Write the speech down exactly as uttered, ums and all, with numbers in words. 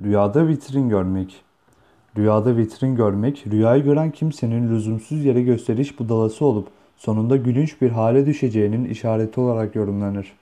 Rüyada vitrin görmek. Rüyada vitrin görmek, rüyayı gören kimsenin lüzumsuz yere gösteriş budalası olup sonunda gülünç bir hale düşeceğinin işareti olarak yorumlanır.